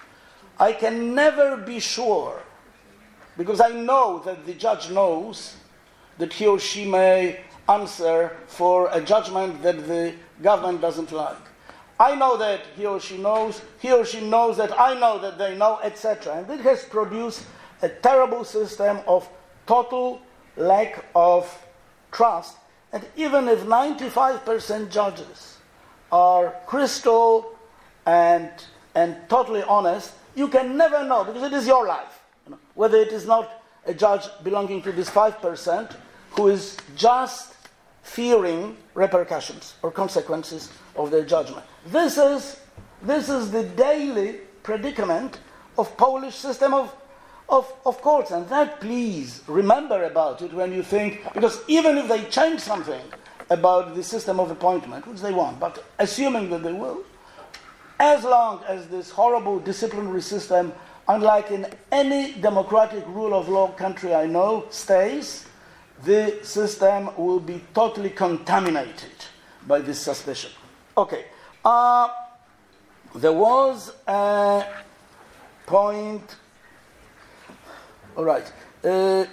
Speaker 2: I can never be sure, because I know that the judge knows that he or she may answer for a judgment that the government doesn't like. I know that he or she knows, he or she knows that I know that they know, et cetera. And it has produced a terrible system of total lack of trust. And even if ninety-five percent judges are crystal and, and totally honest, you can never know, because it is your life. You know, whether it is not a judge belonging to this five percent who is just fearing repercussions or consequences of their judgment. This is, this is the daily predicament of Polish system of, of, of courts. And that, please, remember about it when you think, because even if they change something about the system of appointment, which they want, but assuming that they will, as long as this horrible disciplinary system, unlike in any democratic rule of law country I know, stays, the system will be totally contaminated by this suspicion. Okay. Uh, there was a point. All right. Uh,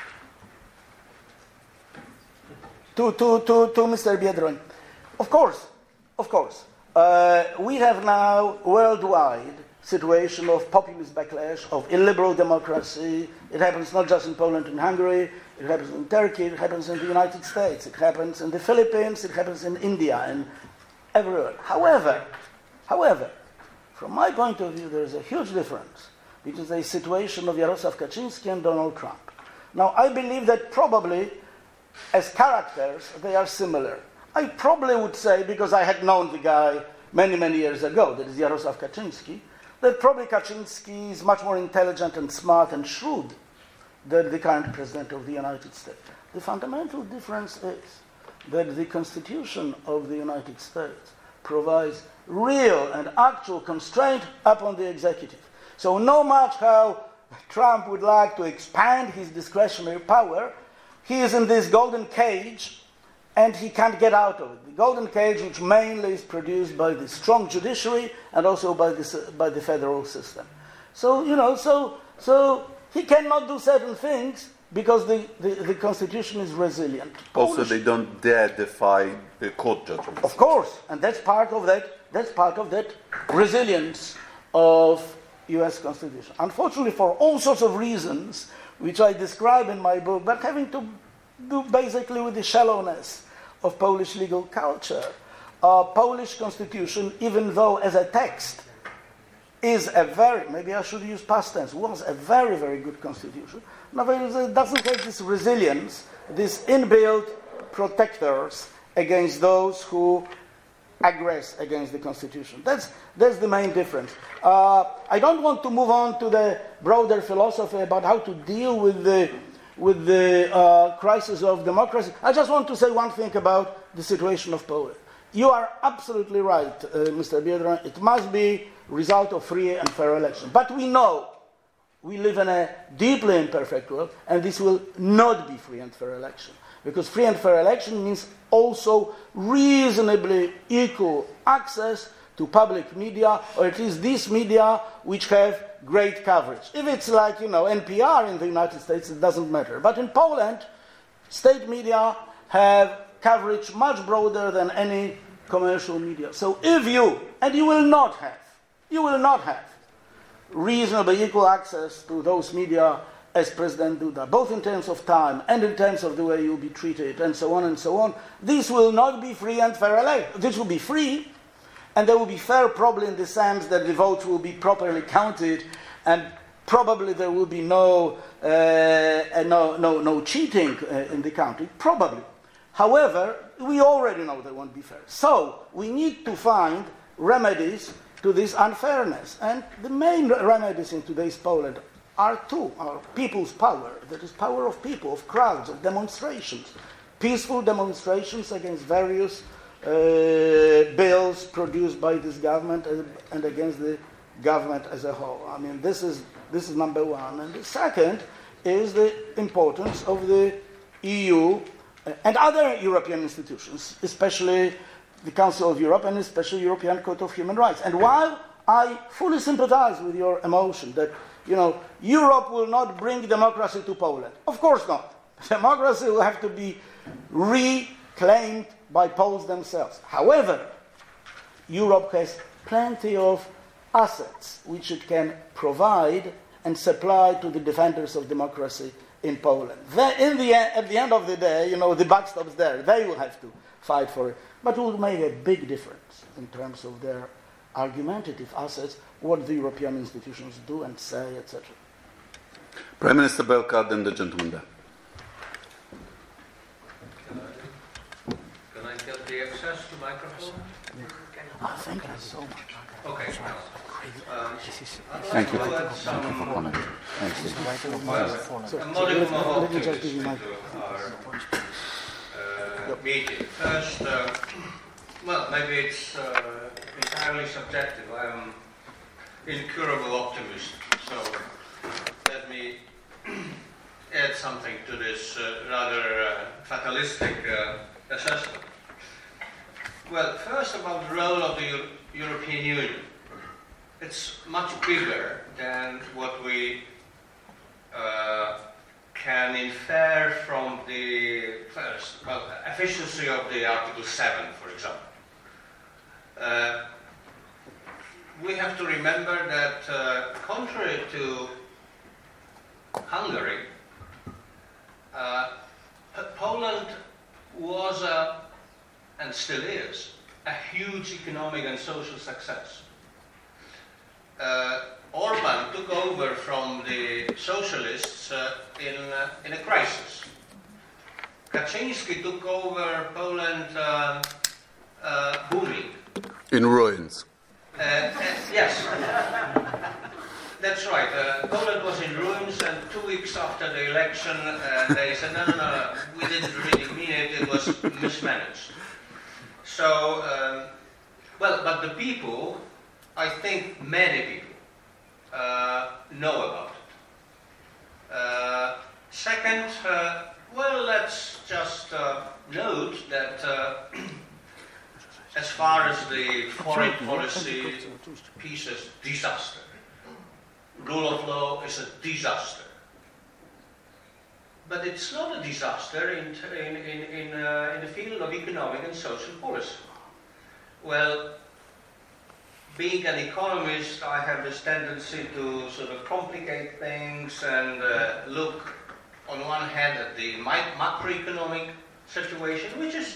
Speaker 2: to, to, to, to Mister Biedroń. Of course, of course. Uh, we have now worldwide situation of populist backlash, of illiberal democracy. It happens not just in Poland and Hungary, it happens in Turkey, it happens in the United States, it happens in the Philippines, it happens in India, and everywhere. However, however, from my point of view, there is a huge difference between the situation of Jarosław Kaczynski and Donald Trump. Now, I believe that probably, as characters, they are similar. I probably would say, because I had known the guy many, many years ago, that is Jarosław Kaczynski, that probably Kaczynski is much more intelligent and smart and shrewd than the current president of the United States. The fundamental difference is that the Constitution of the United States provides real and actual constraint upon the executive. So no much how Trump would like to expand his discretionary power, he is in this golden cage and he can't get out of it. The golden cage, which mainly is produced by the strong judiciary and also by the, by the federal system. So, you know, so, so he cannot do certain things because the, the, the constitution is resilient.
Speaker 1: Also,
Speaker 2: Polish,
Speaker 1: they don't dare defy the court judgments.
Speaker 2: of course, and that's part of that, that's part of that resilience of U S Constitution. Unfortunately, for all sorts of reasons, which I describe in my book, but having to do basically with the shallowness of Polish legal culture, uh, Polish Constitution, even though as a text is a very, maybe I should use past tense, was a very, very good constitution. Nevertheless, it doesn't have this resilience, these inbuilt protectors against those who aggress against the constitution. That's, that's the main difference. Uh, I don't want to move on to the broader philosophy about how to deal with the, with the uh, crisis of democracy. I just want to say one thing about the situation of Poland. You are absolutely right, uh, Mister Biedroń. It must be result of free and fair election. But we know we live in a deeply imperfect world, and this will not be free and fair election. Because free and fair election means also reasonably equal access to public media, or at least these media which have great coverage. If it's like, you know, N P R in the United States, it doesn't matter. But in Poland, state media have coverage much broader than any commercial media. So if you, and you will not have, you will not have reasonably equal access to those media as President Duda, both in terms of time and in terms of the way you'll be treated and so on and so on, this will not be free and fair election. This will be free, and they will be fair probably in the sense that the votes will be properly counted, and probably there will be no, uh, no, no, no cheating uh, in the counting, probably. However, we already know they won't be fair. So we need to find remedies to this unfairness. And the main remedies in today's Poland are two. Are people's power, that is power of people, of crowds, of demonstrations. Peaceful demonstrations against various uh, bills produced by this government and against the government as a whole. I mean, this is, this is number one. And the second is the importance of the E U and other European institutions, especially the Council of Europe and especially European Court of Human Rights. And while I fully sympathize with your emotion that, you know, Europe will not bring democracy to Poland. Of course not. Democracy will have to be reclaimed by Poles themselves. However, Europe has plenty of assets which it can provide and supply to the defenders of democracy in Poland. They, in the, at the end of the day, you know, the buck stops there. They will have to fight for it. But it will make a big difference in terms of their argumentative assets, what the European institutions do and say, et cetera.
Speaker 1: Prime Minister Belka, then the gentleman there.
Speaker 6: Can I, can I get the access to microphone?
Speaker 2: Oh, thank you so much.
Speaker 6: Okay. Um,
Speaker 1: Thank you.
Speaker 6: Well,
Speaker 1: Thank you for comment. Thank you.
Speaker 6: well,
Speaker 2: So,
Speaker 6: a
Speaker 2: so
Speaker 6: modicum
Speaker 2: let,
Speaker 6: of
Speaker 2: let me just give
Speaker 6: optimism
Speaker 2: you my...
Speaker 6: to our uh, meeting. First, uh, well, maybe it's uh, entirely subjective. I'm incurable optimist, so let me add something to this uh, rather uh, fatalistic uh, assessment. Well, first about the role of the Euro- European Union. It's much bigger than what we uh, can infer from the first, well, efficiency of the Article seven, for example. Uh, we have to remember that, uh, contrary to Hungary, uh, Poland was a, and still is, a huge economic and social success. Uh, Orban took over from the socialists uh, in, uh, in a crisis. Kaczynski took over Poland uh, uh, booming.
Speaker 1: In ruins.
Speaker 6: Uh, uh, yes, that's right. Uh, Poland was in ruins, and two weeks after the election, uh, they said, no, no, no, we didn't really mean it, it was mismanaged. So, um, well, but the people, I think many people, uh, know about it. Uh, second, uh, well, let's just uh, note that uh, as far as the foreign policy, peace is disaster. Rule of law is a disaster. But it's not a disaster in, in, in, in, uh, in the field of economic and social policy. Well, being an economist, I have this tendency to sort of complicate things and uh, look on one hand at the macroeconomic situation, which is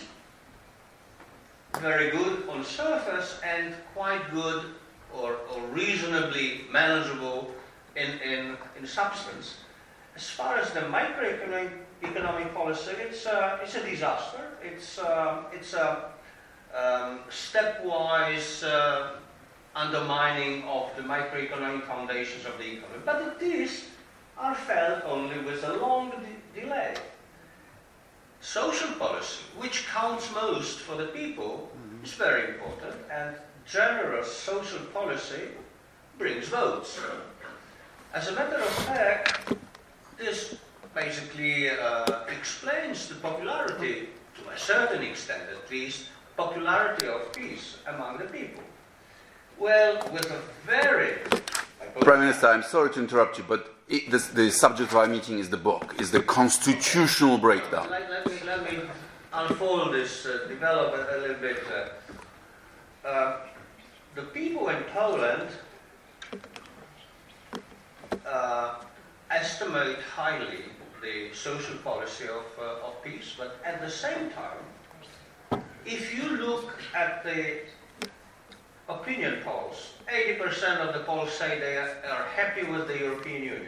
Speaker 6: very good on surface and quite good or, or reasonably manageable in, in, in substance. As far as the microeconomic economic policy, it's, uh, it's a disaster. It's, uh, it's a um, stepwise uh, undermining of the microeconomic foundations of the economy. But these are felt only with a long de- delay. Social policy, which counts most for the people, mm-hmm. is very important, and generous social policy brings votes. As a matter of fact, this basically uh, explains the popularity, to a certain extent at least, popularity of peace among the people. Well, with a very...
Speaker 1: Prime Minister, I'm sorry to interrupt you, but it, this, the subject of our meeting is the book, is the constitutional breakdown.
Speaker 6: Let, let, me, let me unfold this, uh, develop a, a little bit. Uh, uh, the people in Poland uh, estimate highly the social policy of, uh, of peace, but at the same time, if you look at the opinion polls, eighty percent of the polls say they are, are happy with the European Union.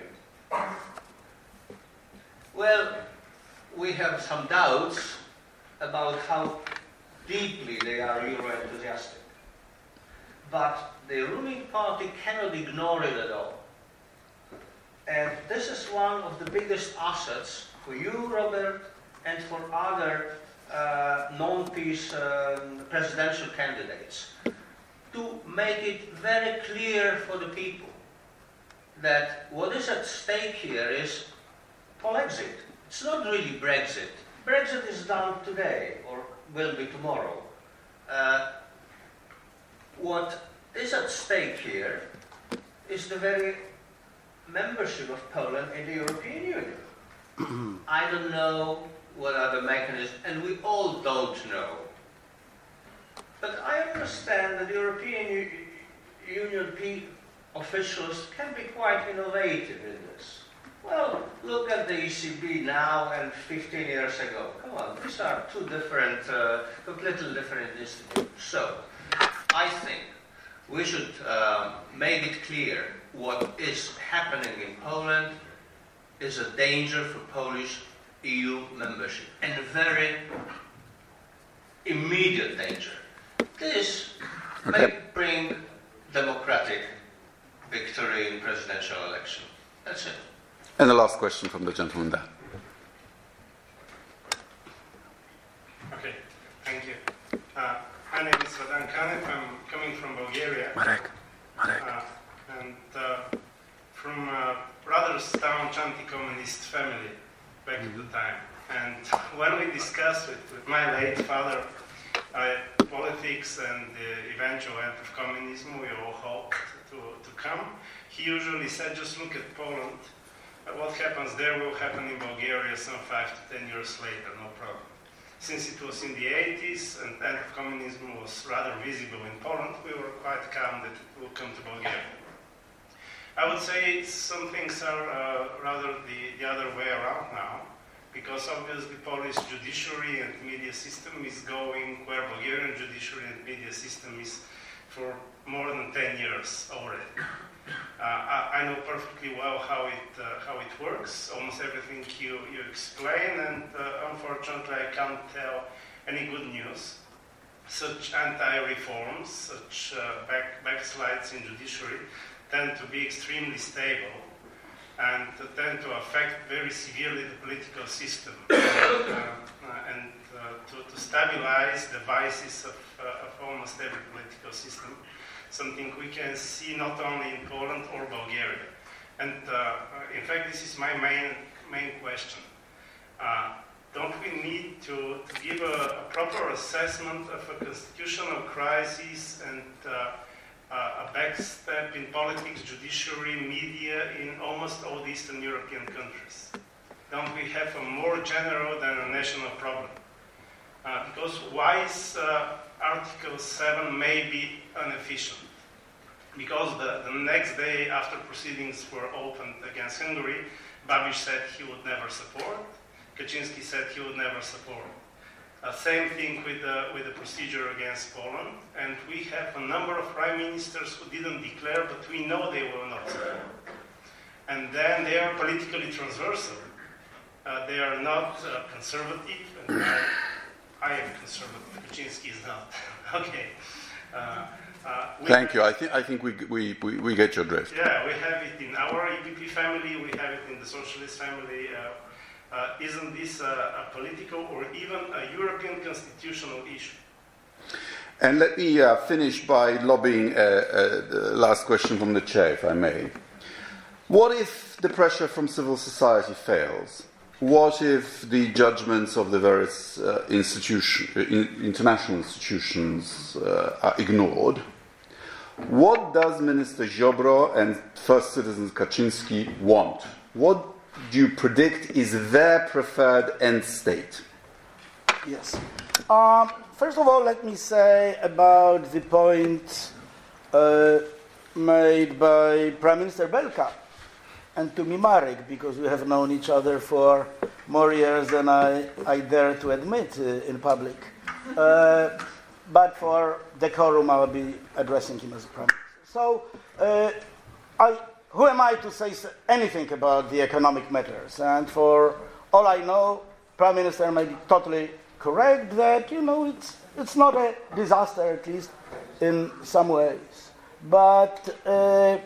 Speaker 6: Well, we have some doubts about how deeply they are Euro-enthusiastic. But the ruling party cannot ignore it at all. And this is one of the biggest assets for you, Robert, and for other uh, non-peace um, presidential candidates, to make it very clear for the people that what is at stake here is Polexit. It's not really Brexit. Brexit is done today, or will be tomorrow. Uh, what is at stake here is the very membership of Poland in the European Union. I don't know what are the mechanisms, and we all don't know. But I understand that European U- Union P- officials can be quite innovative in this. Well, look at the E C B now and fifteen years ago. Come on, these are two different, uh, completely different institutions. So, I think we should uh, make it clear what is happening in Poland is a danger for Polish E U membership, and a very immediate danger. This okay. may bring democratic victory in presidential election. That's it.
Speaker 1: And the last question from the gentleman there.
Speaker 7: Okay, thank you. Uh, my name is Radan Kanev. I'm coming from Bulgaria.
Speaker 1: Marek. Marek.
Speaker 7: Uh, and uh, from a rather staunch anti-communist family back mm-hmm. at the time. And when we discussed with, with my late father uh, politics and the eventual end of communism, we all hoped to, to come, he usually said, just look at Poland. What happens there will happen in Bulgaria some five to ten years later, no problem. Since it was in the eighties and the end of communism was rather visible in Poland, we were quite calm that it will come to Bulgaria. I would say some things are uh, rather the, the other way around now, because obviously Polish judiciary and media system is going where Bulgarian judiciary and media system is for more than ten years already. Uh, I, I know perfectly well how it uh, how it works, almost everything you, you explain, and uh, unfortunately I can't tell any good news. Such anti-reforms, such uh, back, backslides in judiciary tend to be extremely stable and tend to affect very severely the political system. and uh, and uh, to, to stabilize the vices of, uh, of almost every political system, something we can see not only in Poland or Bulgaria. And uh, in fact, this is my main, main question. Uh, don't we need to, to give a, a proper assessment of a constitutional crisis and uh, uh, a backstep in politics, judiciary, media in almost all the Eastern European countries? Don't we have a more general than a national problem? Uh, because why is uh, Article seven may be inefficient? Because the, the next day after proceedings were opened against Hungary, Babiš said he would never support, Kaczynski said he would never support. Uh, same thing with the, with the procedure against Poland, and we have a number of prime ministers who didn't declare, but we know they will not support. And then they are politically transversal. Uh, they are not uh, conservative, and I, I am conservative, Kaczynski is not. Okay. Uh, uh,
Speaker 1: Thank you. I think I think we, we, we, we get your drift.
Speaker 7: Yeah, we have it in our E P P family, we have it in the socialist family. Uh, uh, isn't this a, a political or even a European constitutional issue?
Speaker 1: And let me uh, finish by lobbying uh, uh, the last question from the chair, if I may. What if the pressure from civil society fails? What if the judgments of the various uh, institution, in, international institutions uh, are ignored? What does Minister Ziobro and First Citizen Kaczynski want? What do you predict is their preferred end state?
Speaker 2: Yes. Um, first of all, let me say about the point uh, made by Prime Minister Belka and to me Marek, because we have known each other for more years than I, I dare to admit uh, in public. Uh, but for decorum, I will be addressing him as a Prime Minister. So, uh, I, who am I to say anything about the economic matters? And for all I know, Prime Minister may be totally correct that, you know, it's, it's not a disaster, at least in some ways. But uh,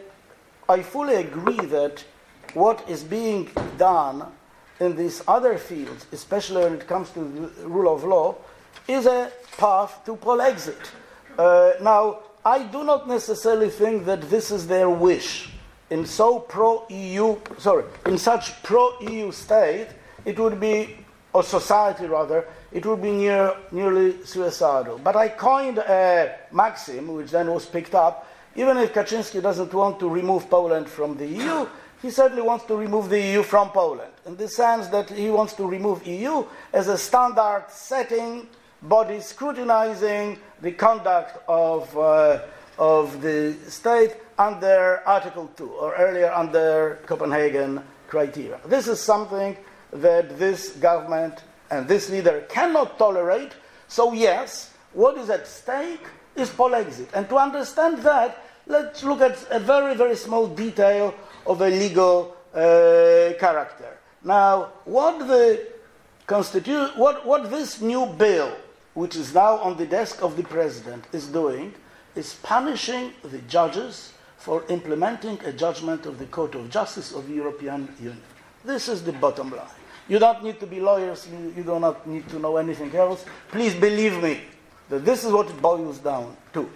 Speaker 2: I fully agree that what is being done in these other fields, especially when it comes to the rule of law, is a path to Polexit. Uh, now, I do not necessarily think that this is their wish. In so pro-E U, sorry, in such pro-E U state, it would be, or society rather, it would be near, nearly suicidal. But I coined a maxim, which then was picked up. Even if Kaczynski doesn't want to remove Poland from the E U, he certainly wants to remove the E U from Poland, in the sense that he wants to remove E U as a standard setting body scrutinizing the conduct of, uh, of the state under Article two, or earlier under Copenhagen criteria. This is something that this government and this leader cannot tolerate. So yes, what is at stake is Polexit. And to understand that, let's look at a very, very small detail of a legal uh, character. Now, what the constitu- what, what this new bill, which is now on the desk of the president, is doing, is punishing the judges for implementing a judgment of the Court of Justice of the European Union. This is the bottom line. You don't need to be lawyers, you, you do not need to know anything else. Please believe me that this is what it boils down to.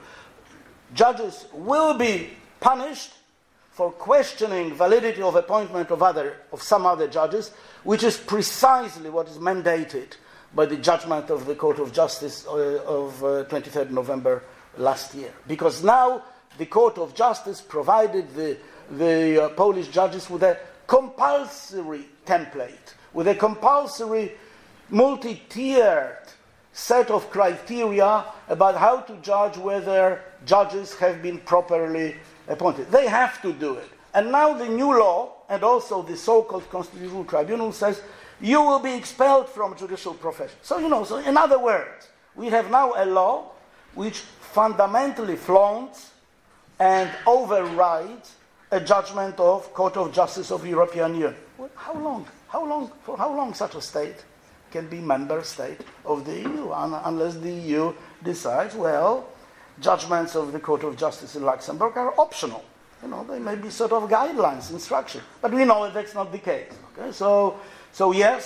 Speaker 2: Judges will be punished for questioning validity of appointment of other of some other judges, which is precisely what is mandated by the judgment of the Court of Justice uh, of uh, twenty-third of November last year. Because now the Court of Justice provided the, the uh, Polish judges with a compulsory template, with a compulsory multi-tiered set of criteria about how to judge whether judges have been properly appointed. They have to do it. And now the new law, and also the so-called Constitutional Tribunal, says you will be expelled from judicial profession. So, you know, so in other words, we have now a law which fundamentally flaunts and overrides a judgment of Court of Justice of the European Union. Well, how long? How long? For how long such a state can be member state of the E U, un- unless the E U decides, well, judgments of the Court of Justice in Luxembourg are optional. You know, they may be sort of guidelines, instruction. But we know that that's not the case. Okay? So, so yes,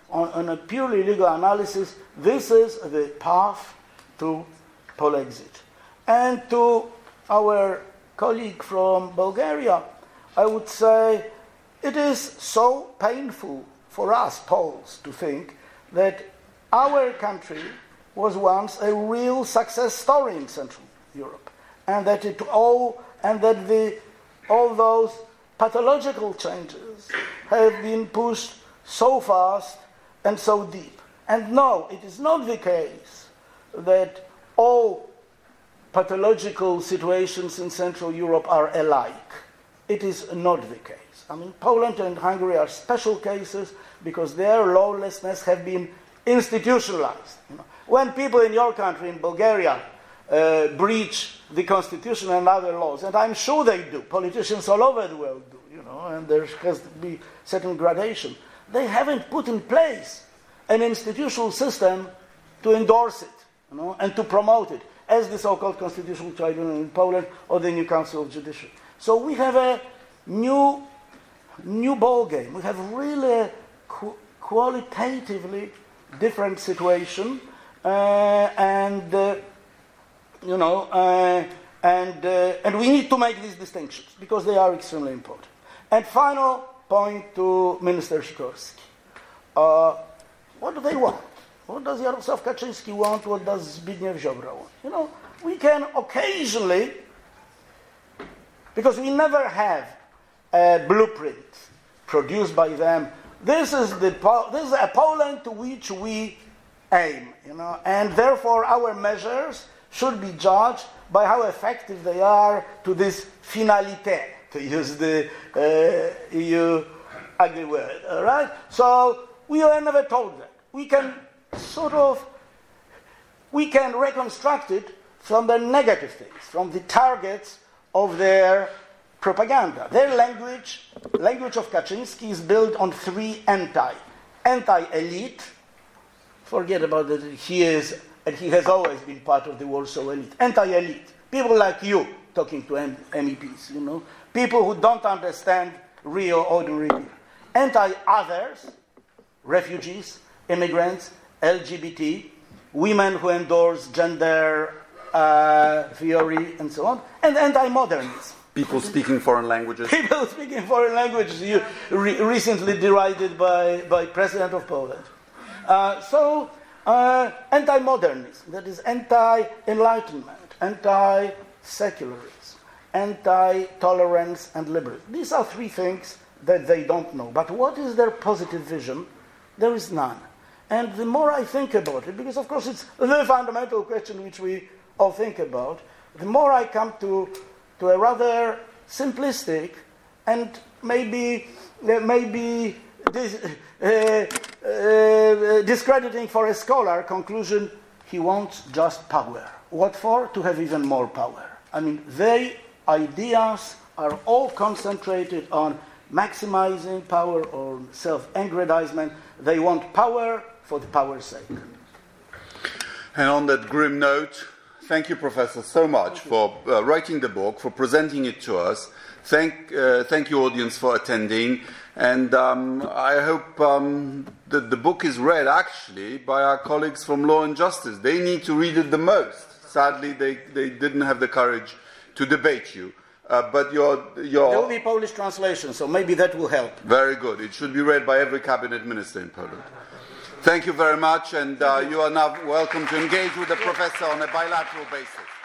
Speaker 2: on, on a purely legal analysis, this is the path to Polexit. And to our colleague from Bulgaria, I would say it is so painful for us Poles to think that our country was once a real success story in Central Europe, and that it all and that the all those pathological changes have been pushed so fast and so deep. And no, it is not the case that all pathological situations in Central Europe are alike. It is not the case. I mean, Poland and Hungary are special cases because their lawlessness have been institutionalized. You know, when people in your country, in Bulgaria, uh, breach the constitution and other laws, and I'm sure they do, politicians all over the world do, you know, and there has to be certain gradation, they haven't put in place an institutional system to endorse it, you know, and to promote it, as the so-called Constitutional Tribunal in Poland or the new Council of Judiciary. So we have a new, new ball game. We have really a qu- qualitatively different situation, uh, and uh, you know, uh, and uh, and we need to make these distinctions because they are extremely important. And final point to Minister Sikorski: uh, what do they want? What does Jarosław Kaczyński want? What does Zbigniew Ziobro want? You know, we can occasionally, because we never have a blueprint produced by them. This is the this is a Poland to which we aim, you know, and therefore our measures should be judged by how effective they are to this finalité, to use the uh, E U ugly word. All right. So we were never told that. We can sort of we can reconstruct it from the negative things, from the targets of their propaganda. Their language, language of Kaczynski, is built on three anti. Anti-elite, forget about that he is, and he has always been part of the Warsaw elite. Anti-elite, people like you talking to M- MEPs, you know, people who don't understand real, ordinary people. Anti-others, refugees, immigrants, L G B T, women who endorse gender uh, theory, and so on, and anti-modernism.
Speaker 1: People speaking foreign languages.
Speaker 2: People speaking foreign languages, you re- recently derided by, by President of Poland. Uh, so, uh, anti-modernism, that is anti-enlightenment, anti-secularism, anti-tolerance and liberalism. These are three things that they don't know. But what is their positive vision? There is none. And the more I think about it, because of course it's the fundamental question which we all think about, the more I come to, to a rather simplistic and maybe uh, maybe dis, uh, uh, discrediting for a scholar conclusion: he wants just power. What for? To have even more power. I mean, their ideas are all concentrated on maximizing power or self-aggrandizement. They want power for the power's sake.
Speaker 1: And on that grim note, thank you, Professor, so much for uh, writing the book, for presenting it to us. Thank, uh, thank you, audience, for attending. And um, I hope um, that the book is read, actually, by our colleagues from Law and Justice. They need to read it the most. Sadly, they, they didn't have the courage to debate you. Uh, but your, your...
Speaker 2: There will be Polish translation, so maybe that will help.
Speaker 1: Very good. It should be read by every cabinet minister in Poland. Thank you very much, and uh, you are now welcome to engage with the professor on a bilateral basis.